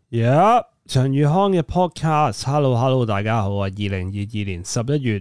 陳宇康嘅 podcast，hello，大家好啊！2022年11月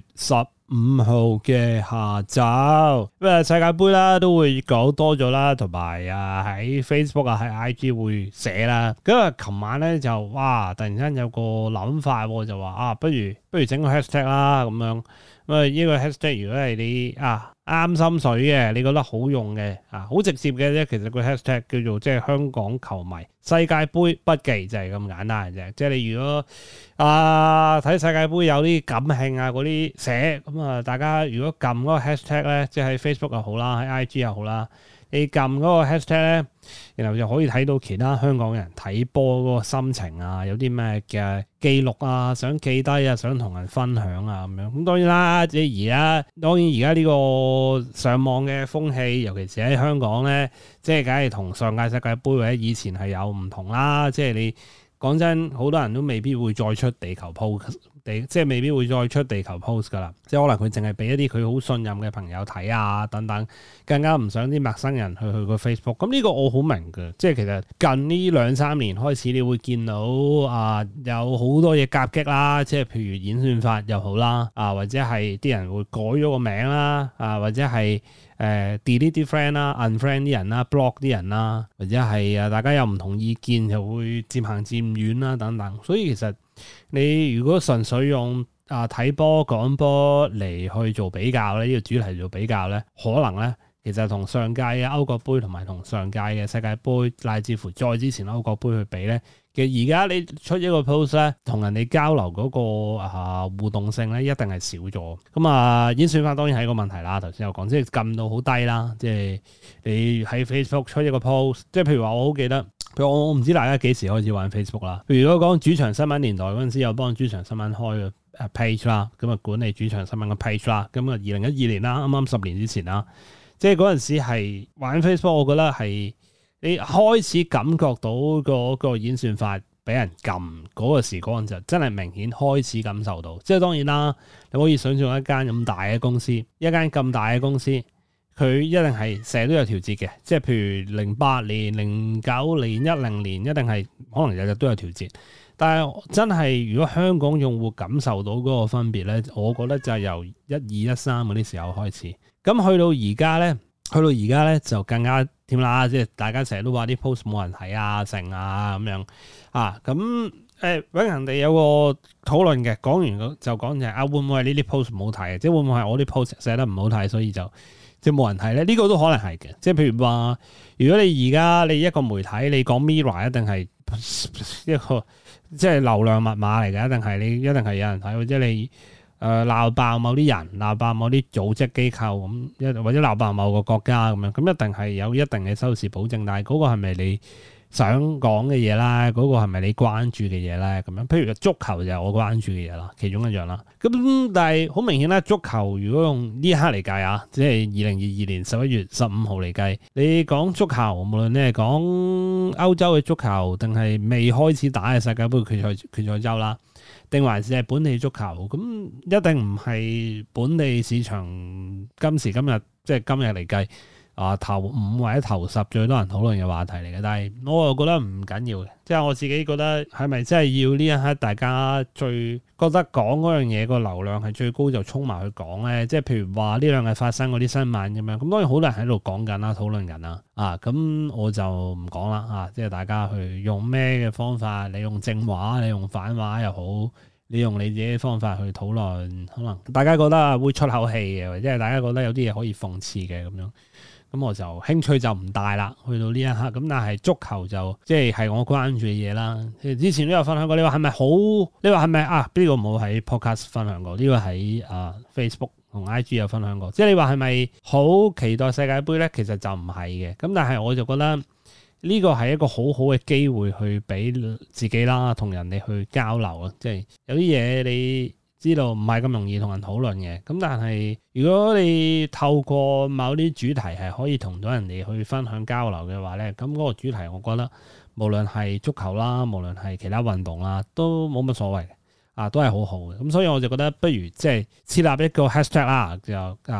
15號嘅下晝，世界盃啦都會講多咗啦，同埋喺 Facebook 喺 IG 會寫啦。咁琴晚咧就突然間有個諗法，就話不如整個 hashtag 啦咁樣。呢個 hashtag 如果係你啱心水嘅，你覺得好用嘅好直接嘅啫。其實個 hashtag 叫做即係香港球迷世界盃筆記，就係咁簡單嘅啫。即係你如果睇世界盃有啲感興嗰啲寫咁大家如果撳嗰個 hashtag 咧，即係喺 Facebook 又好啦，喺 IG 又好啦，你撳嗰個 hashtag 咧，然後就可以睇到其他香港人睇波嗰個心情有啲咩嘅記錄想記低想同人分享咁樣。咁當然啦，即係而家呢個上網嘅風氣，尤其是喺香港咧，即係梗係同上屆世界盃或者以前係有唔同啦。即係你講真，好多人都未必會再出地球 post，即係未必會再出地球 post 噶啦。即係可能佢淨係俾一啲佢好信任嘅朋友睇等等，更加唔想啲陌生人去個 Facebook。咁呢個我好明嘅，即係其實近呢2-3年開始，你會見到有好多嘢夾擊啦，即係譬如演算法又好啦，或者係啲人會改咗個名啦，或者係delete 啲 friend 啦 ，unfriend 啲人啦，block 啲人啦，或者係大家有唔同意見就會漸行漸遠啦等等。所以其實你如果純粹用睇波講波嚟去做比較咧，呢個主題做比較咧，可能咧其實同上屆嘅歐國杯同埋同上屆嘅世界盃，乃至乎再之前歐國杯去比咧，其實而家你出一個 post 咧，同人哋交流嗰個互動性咧，一定係少咗。咁演算法當然係一個問題啦。頭先有講，即係撳到好低啦。即係你喺 Facebook 出一個 post，即係譬如話我好記得，譬如我唔知大家幾時開始玩 Facebook 啦。譬如如果講主場新聞年代嗰陣時，有幫主場新聞開個page 啦，咁管理主場新聞嘅 page 啦。咁2012年啦，啱啱10年之前啦，即係嗰陣時係玩 Facebook，我覺得係你開始感覺到嗰個演算法俾人撳嗰個時光，就真係明顯開始感受到。即係當然啦，你可以想象一間咁大嘅公司，一間咁大嘅公司，佢一定係成日都有調節嘅。即係譬如08年、09年、10年，一定係可能日日都有調節。但係真係如果香港用戶感受到嗰個分別咧，我覺得就係由12、13嗰啲時候開始。咁去到而家咧就更加添啦，即係大家成日都話啲 post 冇人睇成咁樣咁永恆地有個討論嘅，講完就講就係會唔會係呢啲 post 唔好睇，即係會唔會係我啲 post 寫得唔好睇，所以就即係冇人睇咧？呢個都可能係嘅。即係譬如話，如果你而家你一個媒體你講 Mirror 一定係一個即係流量密碼嚟嘅，一定係有人睇，或者你鬧爆某啲人，鬧爆某啲組織機構咁，或者鬧爆某個國家咁樣，咁一定係有一定嘅收視保證。但係嗰個係咪你想講嘅嘢啦？嗰個係咪你關注嘅嘢咧？咁樣，譬如足球就係我關注嘅嘢啦，其中一樣啦。咁但係好明顯咧，足球如果用呢一刻嚟計即係2022年11月15號嚟計，你講足球，無論你係講歐洲嘅足球，定係未開始打嘅世界盃決賽周啦，定還是係本地足球，咁一定唔係本地市場今時今日即係今日嚟計頭5或者頭10最多人討論嘅話題嚟嘅。但係我又覺得唔緊要嘅，即係我自己覺得係咪真係要呢一刻大家最覺得講嗰樣嘢個流量係最高就衝埋去講咧？即係譬如話呢兩日發生嗰啲新聞咁樣，咁當然好多人喺度講緊啦，討論緊啦咁我就唔講啦即係大家去用咩嘅方法，你用正話，你用反話又好，你用你自己嘅方法去討論，可能大家覺得會出口氣嘅，或者係大家覺得有啲嘢可以諷刺嘅咁樣。咁我就興趣就唔大啦，去到呢一刻。咁但係足球就即係我關注嘅嘢啦。之前都有分享過，你話係咪好？你話係咪呢個冇喺 podcast 分享過？呢個喺Facebook 同 IG 有分享過。即係你話係咪好期待世界盃咧？其實就唔係嘅。咁但係我就覺得呢個係一個好好嘅機會去俾自己啦，同人哋去交流啊。即係有啲嘢你知道唔係咁容易同人討論嘅，咁但係如果你透過某啲主題係可以同到人哋去分享交流嘅話咧，咁嗰個主題我覺得無論係足球啦，無論係其他運動啦，都冇乜所謂嘅，都係好好嘅。咁所以我就覺得不如即係設立一個 hashtag 啦，就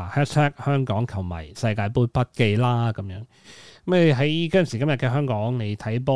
#香港球迷世界盃筆記啦咁樣。咁你喺今時今日嘅香港，你睇波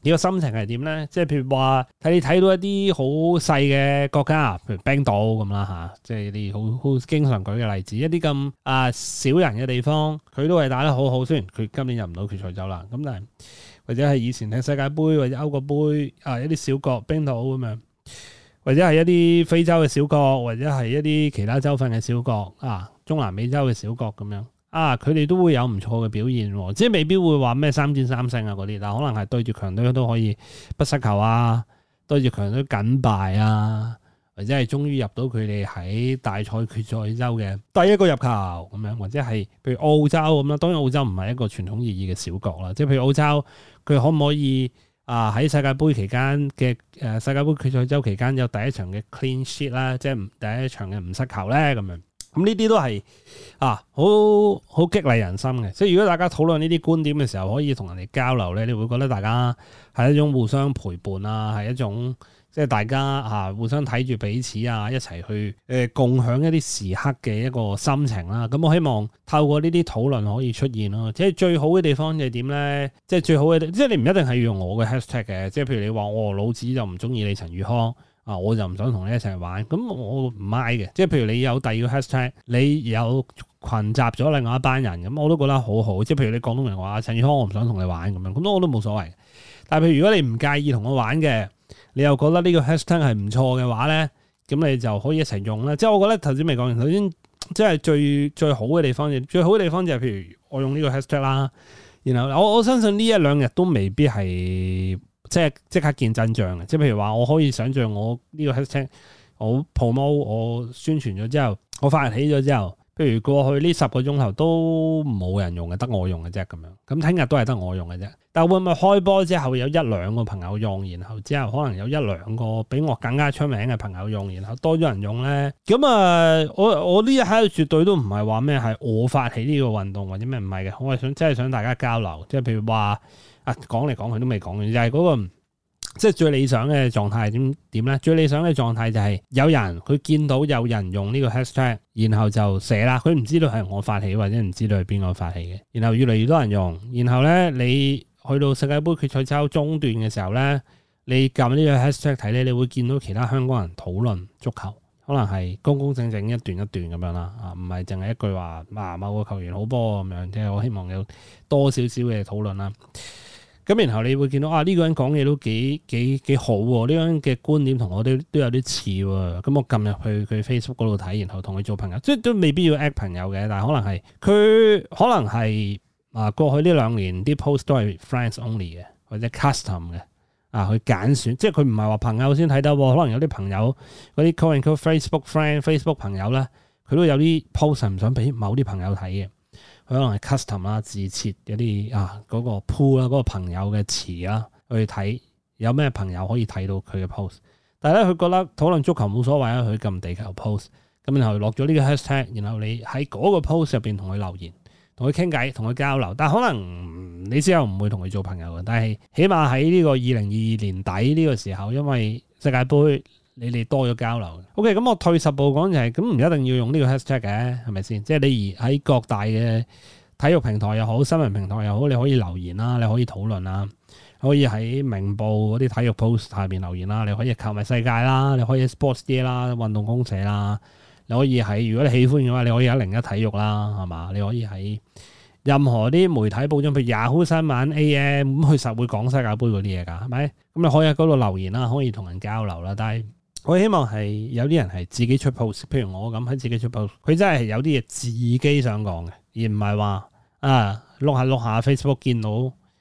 你個心情係點咧？即係譬如話你睇到一啲好細嘅國家，譬如冰島咁啦嚇，即係啲好經常舉嘅例子，一啲咁少人嘅地方，佢都係打得好好。雖然佢今年入唔到決賽周啦，咁但係或者係以前睇世界盃或者歐國盃一啲小國冰島咁樣，或者係一啲非洲嘅小國，或者係一啲其他州份嘅小國中南美洲嘅小國咁樣。佢哋都會有唔錯嘅表現喎，即係未必會話咩3戰3勝嗰啲，但可能係對住強隊都可以不失球對住強隊僅敗或者係終於入到佢哋喺大賽決賽周嘅第一個入球咁樣，或者係譬如澳洲咁啦。當然澳洲唔係一個傳統意義嘅小國啦，即係譬如澳洲佢可唔可以喺世界盃期間嘅世界盃決賽周期間有第一場嘅 clean sheet 啦，即係第一場嘅唔失球咧咁樣。咁呢啲都係好激勵人心嘅，即係如果大家討論呢啲觀點嘅時候，可以同人哋交流咧，你會覺得大家係一種互相陪伴係一種即係大家互相睇住彼此一齊去共享一啲時刻嘅一個心情啦。咁我希望透過呢啲討論可以出現咯。即係最好嘅地方就係點咧？即係最好嘅，即係你唔一定係要用我嘅 hashtag 嘅。即係譬如你話我老子就唔中意你陳宇康。我就唔想同你一齊玩，咁我唔 mind 嘅。即係譬如你有第二個 hashtag，你有群集咗另外一班人，咁我都覺得好好。即係譬如你廣東人話陳宇康，我唔想同你玩咁樣，咁我都冇所謂。但係譬如如果你唔介意同我玩嘅，你又覺得呢個 hashtag 係唔錯嘅話咧，咁你就可以一齊用啦。即係我覺得頭先未講完，頭先即係最好嘅地方，最好嘅地方就係譬如我用呢個 hashtag 啦，然後我相信呢一兩日都未必係。即刻見真章嘅，即係譬如話，我可以想像我呢個 hashtag，我 promote 我宣傳咗之後，我發起咗之後，譬如過去呢10個鐘頭都冇人用嘅，得我用嘅啫咁樣。咁聽日都係得我用嘅啫。但會唔會開波之後有1-2個朋友用，然後之後可能有1-2個比我更加出名嘅朋友用，然後多咗人用咧？咁我呢一刻絕對都唔係話咩係我發起呢個運動或者咩唔係嘅，我係真係想大家交流，即係譬如話。講嚟講去都未講完，就係嗰個即係最理想嘅狀態係點咧？最理想嘅狀態就係有人佢見到有人用呢個 hashtag，然後就寫啦。佢唔知道係我發起或者唔知道係邊個發起嘅，然後越嚟越多人用，然後咧你去到世界盃決賽周中段嘅時候咧，你撳呢個 hashtag 睇咧，你會見到其他香港人討論足球，可能係公公正正一段一段咁樣啦，唔係淨係一句話某個球員好波咁樣，即係我希望有多少少嘅討論啦。咁然後你會見到呢個人講嘢都幾好喎，呢個人嘅觀點同我都有啲似喎。咁我撳入去佢 Facebook 嗰度睇，然後同佢做朋友，即係都未必要 add 朋友嘅，但係可能係過去呢2年啲 post 都係 friends only 嘅，或者 custom 嘅去揀選，即係佢唔係話朋友先睇得喎，可能有啲朋友嗰啲 call and call Facebook friend、Facebook 朋友咧，佢都有啲 post 係唔想俾某啲朋友睇嘅。佢可能係 custom 啦，自設一啲嗰個 pool 啦，嗰個朋友嘅詞啦，去睇有咩朋友可以睇到佢嘅 post。但係咧，佢覺得討論足球冇所謂啊，佢撳地球 post，咁然後落咗呢個 hashtag，然後你喺嗰個 post 入邊同佢留言，同佢傾偈，同佢交流。但係可能你之後唔會同佢做朋友嘅，但係起碼喺呢個2022年底呢個時候，因為世界盃。你哋多咗交流。OK，咁我退10步講就係，咁唔一定要用呢個 hashtag 嘅，係咪先？即係你而喺各大嘅體育平台又好，新聞平台又好，你可以留言啦，你可以討論啦，可以喺明報嗰啲體育 post 下邊留言啦，你可以球迷世界啦，你可以 sports day 啦，運動公社啦，你可以喺如果你喜歡嘅話，你可以喺01體育啦，係嘛？你可以喺任何啲媒體報章，譬如 Yahoo 新聞 AM， 咁佢實會講世界盃嗰啲嘢㗎，係咪？咁你可以喺嗰度留言啦，可以同人交流啦，但係。我希望係有啲人係自己出 post， 譬如我咁喺自己出 post， 佢真係有啲嘢自己想講嘅，而唔係話碌下 Facebook 見到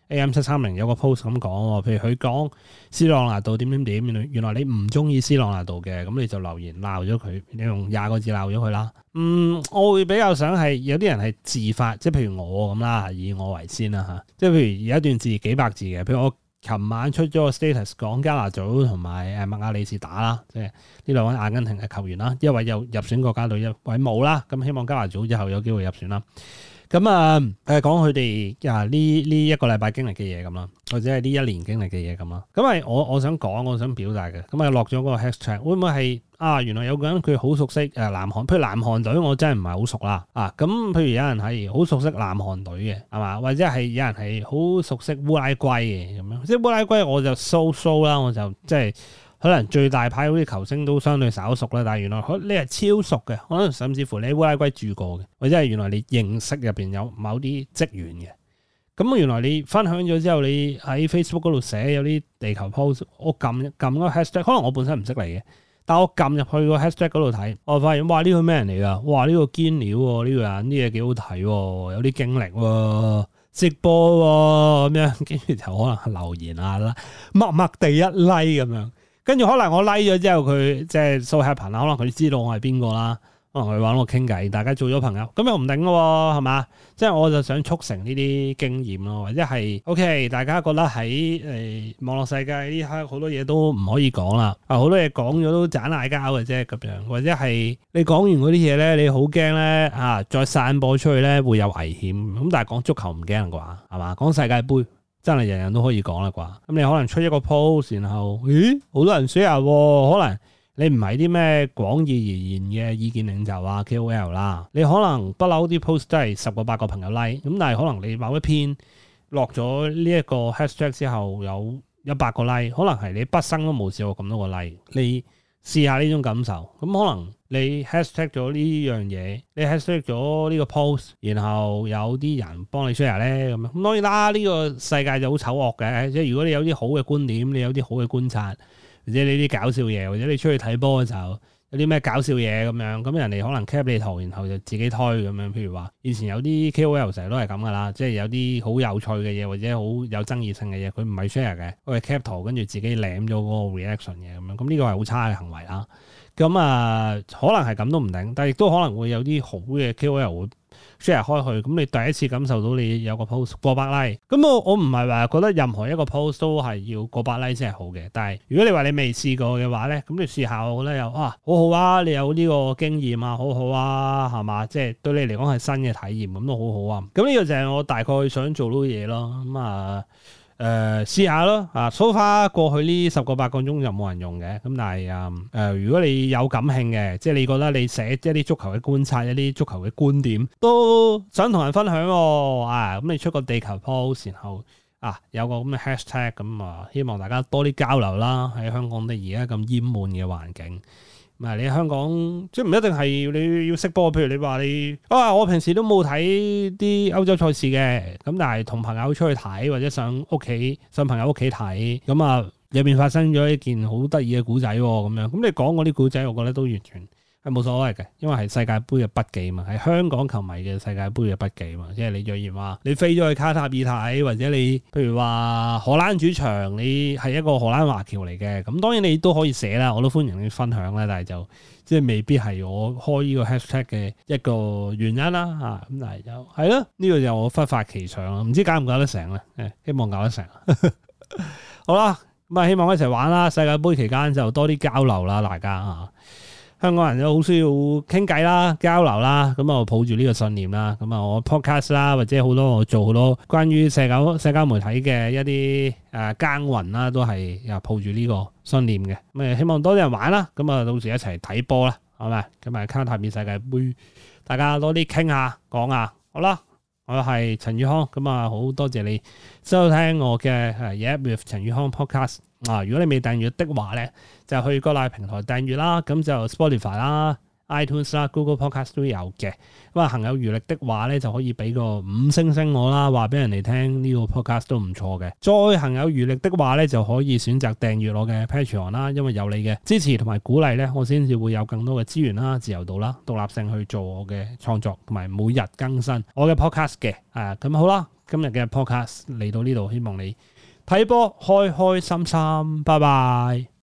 AM730 有個 post 咁講，譬如佢講斯朗拿度點，原來你唔中意斯朗拿度嘅，咁你就留言鬧咗佢，你用20個字鬧咗佢啦。我會比較想係有啲人係自發，即係譬如我咁啦，以我為先啦嚇，即係譬如有一段字幾百字嘅，譬如我。琴晚出咗個 status 講加拿祖同埋麥亞里士打啦，即係呢2位阿根廷嘅球員啦，一位有入選國家隊，一位冇啦。咁希望加拿祖之後有機會入選啦。 咁啊講佢哋呢一個禮拜經歷嘅嘢咁啦，或者係呢一年經歷嘅嘢咁啦。咁係我想講，我想表達嘅。咁啊落咗嗰個 hashtag，會唔會係原來有個人佢好熟悉南韓，譬如南韓隊，我真係唔係好熟啦。咁譬如有人係好熟悉南韓隊嘅，係嘛？或者係有人係好熟悉烏拉圭嘅咁樣。即係烏拉圭我就 so 啦，我就即係。可能最大牌嗰啲球星都相對稍熟啦，但係原來你係超熟嘅，可能甚至乎你喺烏拉圭住過嘅，或者係原來你認識入邊有某啲職員嘅。咁原來你分享咗之後，你喺 Facebook 嗰度寫有啲地球 post， 我撳個 hashtag， 可能我本身唔識嚟嘅，但我撳入去個 hashtag 嗰度睇，我發現哇呢個咩人嚟㗎？哇呢個堅料喎，呢個人啲嘢幾好睇喎，有啲經歷喎，直播喎咁樣，跟住就可能留言啦，默默地一 like 咁樣。跟住可能我 like 咗之後，佢即係 so happen 啦，可能佢知道我係邊個啦，可能佢揾我傾偈，大家做咗朋友，咁又唔定嘅喎，係嘛？即係我就想促成呢啲經驗咯，或者係 OK，大家覺得喺網絡世界呢刻好多嘢都唔可以講啦，好多嘢講咗都盞嗌交嘅啫咁樣，或者係你講完嗰啲嘢咧，你好驚咧再散播出去咧會有危險，咁但係講足球唔驚啩，係嘛？講世界盃。真係人人都可以講啦啩，咁你可能出一個 post，然後好多人 share，可能你唔係啲咩廣義而言嘅意見領袖啊 KOL 啦，你可能不嬲啲 post 都係10個8個朋友 like，咁但係可能你某一篇落咗呢一個 hashtag 之後有100個 like，可能係你畢生都冇試過咁多個 like，你試下呢種感受，咁可能你 hashtag 咗呢樣嘢，你 hashtag 咗呢個 post， 然後有啲人幫你 share 咧，咁當然啦，呢個世界就好醜惡嘅，即係如果你有啲好嘅觀點，你有啲好嘅觀察，或者你啲搞笑嘢，或者你出去睇波嘅時候有啲咩搞笑嘢咁樣，咁人哋可能 cap 你圖，然後就自己推咁樣。譬如話以前有啲 KOL 成日都係咁噶啦，即係有啲好有趣嘅嘢或者好有爭議性嘅嘢，佢唔係 share 嘅，佢係 cap 圖跟住自己舐咗嗰個 reaction 嘅咁樣，咁呢個係好差嘅行為啦。咁可能係咁都唔定，但係亦都可能會有啲好嘅 KOL 會 share 開去，咁你第一次感受到你有個 post 過百 like，咁我唔係話覺得任何一個 post 都係要過百 like 先係好嘅，但係如果你話你未試過嘅話咧，咁你試下，我覺得又好好啊，你有呢個經驗啊，好好啊，係嘛？即係對你嚟講係新嘅體驗，咁都好好啊。咁呢個就係我大概想做到嘅嘢咯。咁試下咯，so far 過去呢10個8個鐘就冇人用嘅，咁但係如果你有感興嘅，即係你覺得你寫一啲足球嘅觀察，一啲足球嘅觀點，都想同人分享咁你出個地球 post，然後有個咁嘅 hashtag，咁希望大家多啲交流啦。喺香港而家咁厭悶嘅環境。你喺香港即係唔一定係你要識波，譬如你話你我平時都冇睇啲歐洲賽事嘅，咁但係同朋友出去睇或者上朋友屋企睇，咁入邊發生咗一件好得意嘅古仔咁樣，咁你講嗰啲古仔，我覺得都完全係冇所謂嘅，因為係世界盃嘅筆記嘛，係香港球迷嘅世界盃嘅筆記嘛。即係你若然話你飛咗去卡塔爾睇，或者你譬如話荷蘭主場，你係一個荷蘭華僑嚟嘅，咁當然你都可以寫啦，我都歡迎你分享啦，但係就即係未必係我開呢個 hashtag 嘅一個原因啦咁但係就係咯，呢個就我忽發奇想啦，唔知搞唔搞得成咧？希望搞得成。好啦，咁希望一齊玩啦！世界盃期間就多啲交流啦，大家香港人都好需要傾偈啦、交流啦，咁我抱住呢個信念啦，咁我 podcast 啦，或者我做好多關於社交媒體嘅一啲耕耘啦，都係抱住呢個信念嘅。咁希望多啲人玩啦，咁到時一齊睇波啦，係咪？咁卡塔爾世界盃，大家多啲傾下講下，好啦，我係陳宇康，咁好多謝你收聽我嘅Yap with 陳宇康 podcast。如果你未訂閱的話咧，就去各大平台訂閱啦，咁就 Spotify 啦、iTunes 啦、Google Podcast 都有嘅。咁行有餘力的話咧，就可以俾個5星我啦，話俾人哋聽呢個 podcast 都唔錯嘅。再行有餘力的話咧，就可以選擇訂閱我嘅 Patreon 啦，因為有你嘅支持同埋鼓勵咧，我先至會有更多嘅資源啦、自由度啦、獨立性去做我嘅創作，同埋每日更新我嘅 podcast 嘅。咁好啦，今日嘅 podcast 嚟到呢度，希望你睇波開開心心，拜拜。